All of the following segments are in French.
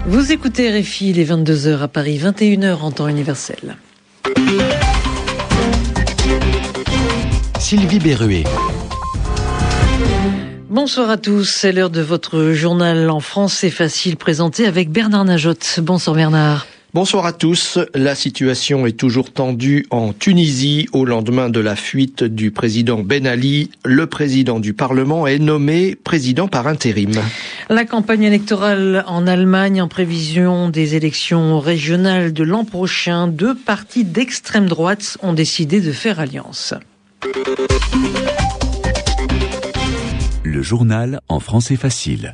Vous écoutez RFI, il est 22h à Paris, 21h en temps universel. Sylvie Berruet. Bonsoir à tous, c'est l'heure de votre journal en français facile présenté avec Bernard Najotte. Bonsoir Bernard. Bonsoir à tous. La situation est toujours tendue en Tunisie au lendemain de la fuite du président Ben Ali. Le président du Parlement est nommé président par intérim. La campagne électorale en Allemagne en prévision des élections régionales de l'an prochain, 2 partis d'extrême droite ont décidé de faire alliance. Le journal en français facile.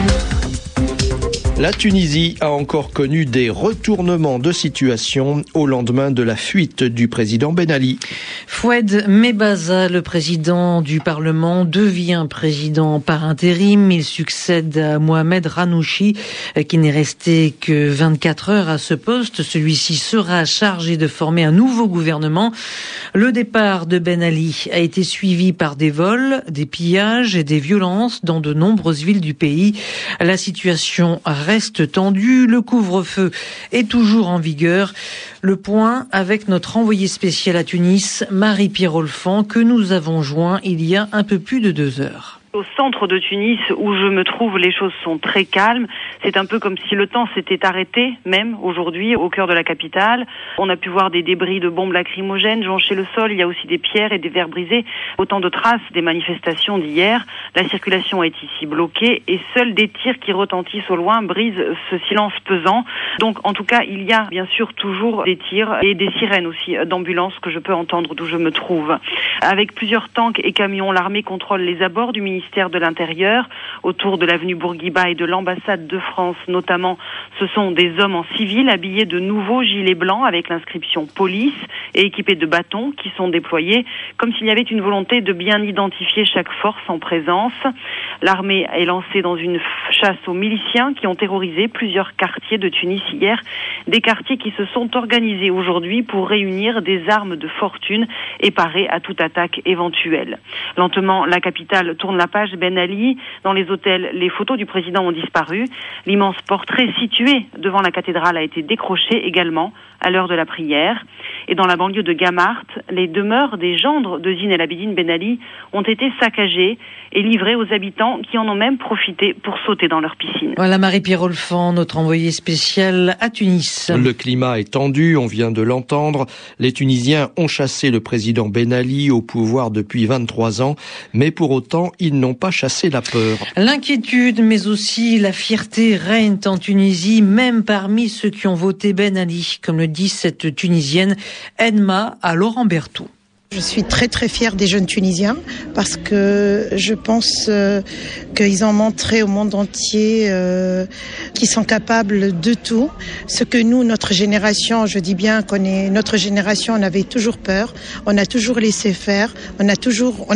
La Tunisie a encore connu des retournements de situation au lendemain de la fuite du président Ben Ali. Foued Mebaza, le président du Parlement, devient président par intérim. Il succède à Mohamed Ranouchi, qui n'est resté que 24 heures à ce poste. Celui-ci sera chargé de former un nouveau gouvernement. Le départ de Ben Ali a été suivi par des vols, des pillages et des violences dans de nombreuses villes du pays. La situation reste tendue, le couvre-feu est toujours en vigueur. Le point avec notre envoyé spécial à Tunis, Marie-Pierre Olfan, que nous avons joint il y a un peu plus de 2 heures. Au centre de Tunis, où je me trouve, les choses sont très calmes. C'est un peu comme si le temps s'était arrêté, même aujourd'hui, au cœur de la capitale. On a pu voir des débris de bombes lacrymogènes joncher le sol. Il y a aussi des pierres et des verres brisés. Autant de traces des manifestations d'hier. La circulation est ici bloquée et seuls des tirs qui retentissent au loin brisent ce silence pesant. Donc, en tout cas, il y a bien sûr toujours des tirs et des sirènes aussi d'ambulances que je peux entendre d'où je me trouve. Avec plusieurs tanks et camions, l'armée contrôle les abords du ministère de l'Intérieur, autour de l'avenue Bourguiba et de l'ambassade de France notamment. Ce sont des hommes en civil habillés de nouveaux gilets blancs avec l'inscription police et équipés de bâtons qui sont déployés comme s'il y avait une volonté de bien identifier chaque force en présence. L'armée est lancée dans une chasse aux miliciens qui ont terrorisé plusieurs quartiers de Tunis hier, des quartiers qui se sont organisés aujourd'hui pour réunir des armes de fortune et parer à toute attaque éventuelle. Lentement, la capitale tourne la page. Ben Ali, dans les hôtels, les photos du président ont disparu. L'immense portrait situé devant la cathédrale a été décroché également à l'heure de la prière. Et dans la banlieue de Gamart, les demeures des gendres de Zine El Abidine Ben Ali ont été saccagées et livrées aux habitants qui en ont même profité pour sauter dans leur piscine. Voilà Marie-Pierre Olfan, notre envoyée spéciale à Tunis. Le climat est tendu, on vient de l'entendre. Les Tunisiens ont chassé le président Ben Ali au pouvoir depuis 23 ans, mais pour autant, ils n'ont pas chassé la peur. L'inquiétude, mais aussi la fierté règnent en Tunisie, même parmi ceux qui ont voté Ben Ali, comme le dit cette Tunisienne Enma à Laurent Berthoud. Je suis très très fière des jeunes Tunisiens parce que je pense qu'ils ont montré au monde entier qu'ils sont capables de tout. Ce que nous, notre génération, je dis bien notre génération, on avait toujours peur, on a toujours laissé faire, on a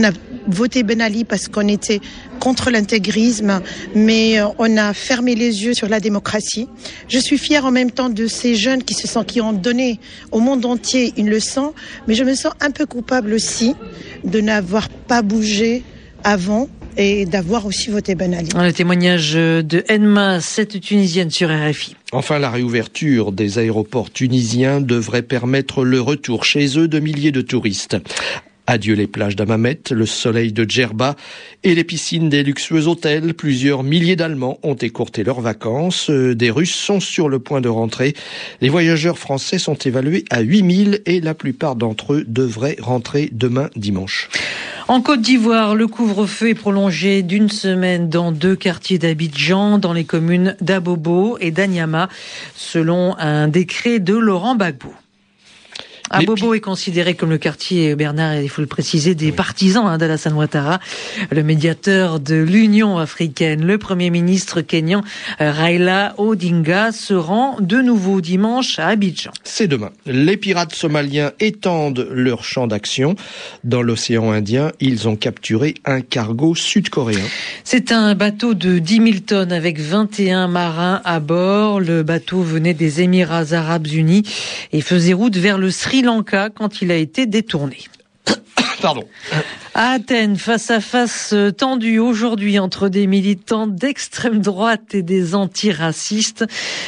voté Ben Ali parce qu'on était contre l'intégrisme, mais on a fermé les yeux sur la démocratie. Je suis fière en même temps de ces jeunes qui ont donné au monde entier une leçon, mais je me sens un peu coupable aussi de n'avoir pas bougé avant et d'avoir aussi voté Ben Ali. Le témoignage de Enma, cette Tunisienne sur RFI. Enfin, la réouverture des aéroports tunisiens devrait permettre le retour chez eux de milliers de touristes. Adieu les plages d'Hammamet, le soleil de Djerba et les piscines des luxueux hôtels. Plusieurs milliers d'Allemands ont écourté leurs vacances. Des Russes sont sur le point de rentrer. Les voyageurs français sont évalués à 8000 et la plupart d'entre eux devraient rentrer demain dimanche. En Côte d'Ivoire, le couvre-feu est prolongé d'1 semaine dans 2 quartiers d'Abidjan, dans les communes d'Abobo et d'Anyama, selon un décret de Laurent Gbagbo. Abobo est considéré comme le quartier, Bernard, il faut le préciser, des partisans d'Alassane Ouattara, le médiateur de l'Union africaine. Le Premier ministre kényan Raila Odinga se rend de nouveau dimanche à Abidjan. C'est demain. Les pirates somaliens étendent leur champ d'action. Dans l'océan Indien, ils ont capturé un cargo sud-coréen. C'est un bateau de 10 000 tonnes avec 21 marins à bord. Le bateau venait des Émirats Arabes Unis et faisait route vers le Sri Lanka quand il a été détourné. Pardon. À Athènes, face à face tendu aujourd'hui entre des militants d'extrême droite et des antiracistes.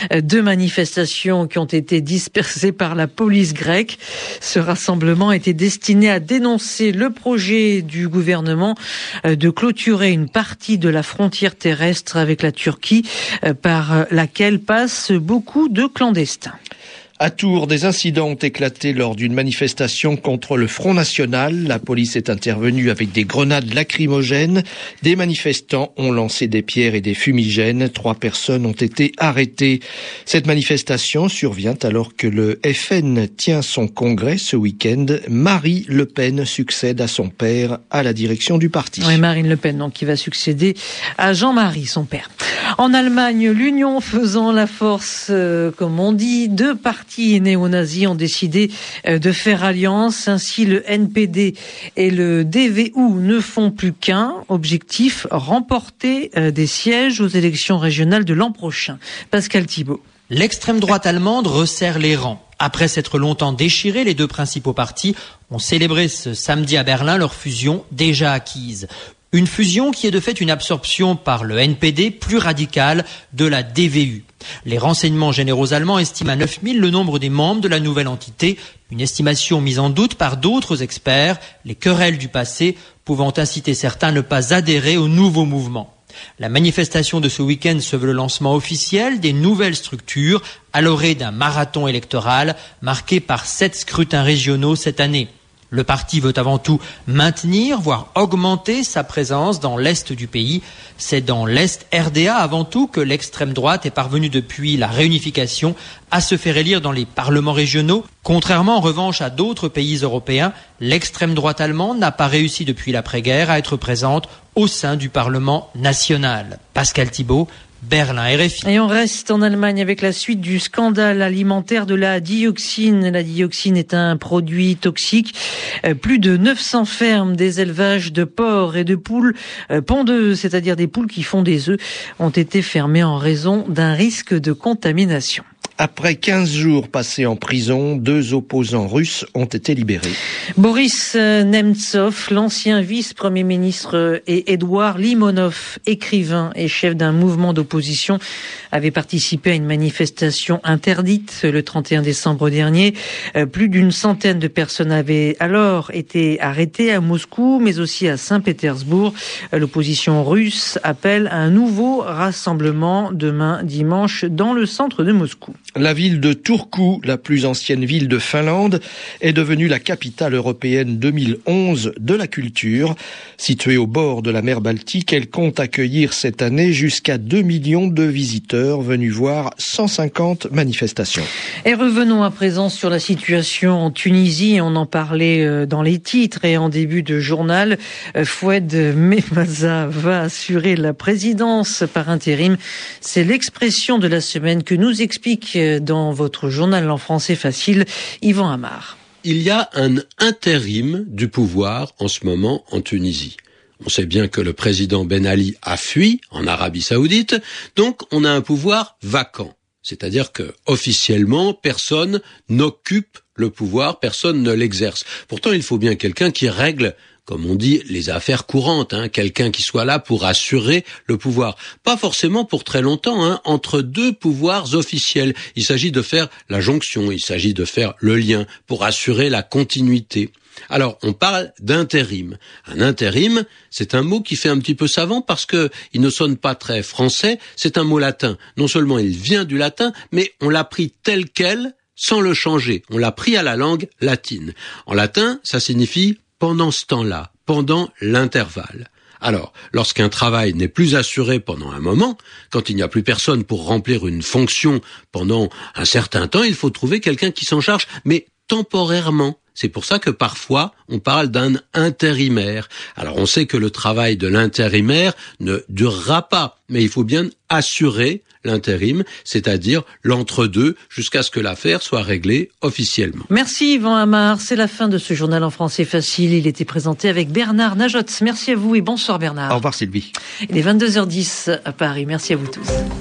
2 manifestations qui ont été dispersées par la police grecque. Ce rassemblement était destiné à dénoncer le projet du gouvernement de clôturer une partie de la frontière terrestre avec la Turquie par laquelle passent beaucoup de clandestins. À Tours, des incidents ont éclaté lors d'une manifestation contre le Front National. La police est intervenue avec des grenades lacrymogènes. Des manifestants ont lancé des pierres et des fumigènes. 3 personnes ont été arrêtées. Cette manifestation survient alors que le FN tient son congrès ce week-end. Marine Le Pen succède à son père à la direction du parti. Oui, Marine Le Pen, donc, qui va succéder à Jean-Marie, son père. En Allemagne, l'union faisant la force, comme on dit, 2 partis néo-nazis ont décidé de faire alliance. Ainsi, le NPD et le DVU ne font plus qu'un objectif, remporter des sièges aux élections régionales de l'an prochain. Pascal Thibault. L'extrême droite allemande resserre les rangs. Après s'être longtemps déchirés, les 2 principaux partis ont célébré ce samedi à Berlin leur fusion déjà acquise. Une fusion qui est de fait une absorption par le NPD plus radicale de la DVU. Les renseignements généraux allemands estiment à 9000 le nombre des membres de la nouvelle entité, une estimation mise en doute par d'autres experts, les querelles du passé pouvant inciter certains à ne pas adhérer au nouveau mouvement. La manifestation de ce week-end se veut le lancement officiel des nouvelles structures à l'orée d'un marathon électoral marqué par 7 scrutins régionaux cette année. Le parti veut avant tout maintenir, voire augmenter sa présence dans l'Est du pays. C'est dans l'Est RDA avant tout que l'extrême droite est parvenue depuis la réunification à se faire élire dans les parlements régionaux. Contrairement en revanche à d'autres pays européens, l'extrême droite allemande n'a pas réussi depuis l'après-guerre à être présente au sein du Parlement national. Pascal Thibault, Berlin, RFI. Et on reste en Allemagne avec la suite du scandale alimentaire de la dioxine. La dioxine est un produit toxique. Plus de 900 fermes, des élevages de porcs et de poules pondeuses, c'est-à-dire des poules qui font des œufs, ont été fermées en raison d'un risque de contamination. Après 15 jours passés en prison, 2 opposants russes ont été libérés. Boris Nemtsov, l'ancien vice-premier ministre, et Edouard Limonov, écrivain et chef d'un mouvement d'opposition, avaient participé à une manifestation interdite le 31 décembre dernier. Plus d'une centaine de personnes avaient alors été arrêtées à Moscou, mais aussi à Saint-Pétersbourg. L'opposition russe appelle à un nouveau rassemblement demain dimanche dans le centre de Moscou. La ville de Turku, la plus ancienne ville de Finlande, est devenue la capitale européenne 2011 de la culture. Située au bord de la mer Baltique, elle compte accueillir cette année jusqu'à 2 millions de visiteurs venus voir 150 manifestations. Et revenons à présent sur la situation en Tunisie. On en parlait dans les titres et en début de journal. Foued Memaza va assurer la présidence par intérim. C'est l'expression de la semaine que nous explique dans votre journal en français facile, Yvan Amar. Il y a un intérim du pouvoir en ce moment en Tunisie. On sait bien que le président Ben Ali a fui en Arabie Saoudite, donc on a un pouvoir vacant. C'est-à-dire que officiellement, personne n'occupe le pouvoir, personne ne l'exerce. Pourtant, il faut bien quelqu'un qui règle, comme on dit, les affaires courantes, quelqu'un qui soit là pour assurer le pouvoir. Pas forcément pour très longtemps, entre 2 pouvoirs officiels. Il s'agit de faire la jonction, il s'agit de faire le lien pour assurer la continuité. Alors, on parle d'intérim. Un intérim, c'est un mot qui fait un petit peu savant parce que il ne sonne pas très français, c'est un mot latin. Non seulement il vient du latin, mais on l'a pris tel quel, sans le changer. On l'a pris à la langue latine. En latin, ça signifie pendant ce temps-là, pendant l'intervalle. Alors, lorsqu'un travail n'est plus assuré pendant un moment, quand il n'y a plus personne pour remplir une fonction pendant un certain temps, il faut trouver quelqu'un qui s'en charge, mais temporairement. C'est pour ça que parfois, on parle d'un intérimaire. Alors, on sait que le travail de l'intérimaire ne durera pas, mais il faut bien assurer l'intérim, c'est-à-dire l'entre-deux, jusqu'à ce que l'affaire soit réglée officiellement. Merci Yvan Amar, c'est la fin de ce journal en français facile. Il était présenté avec Bernard Najot. Merci à vous et bonsoir Bernard. Au revoir Sylvie. Il est 22h10 à Paris. Merci à vous tous.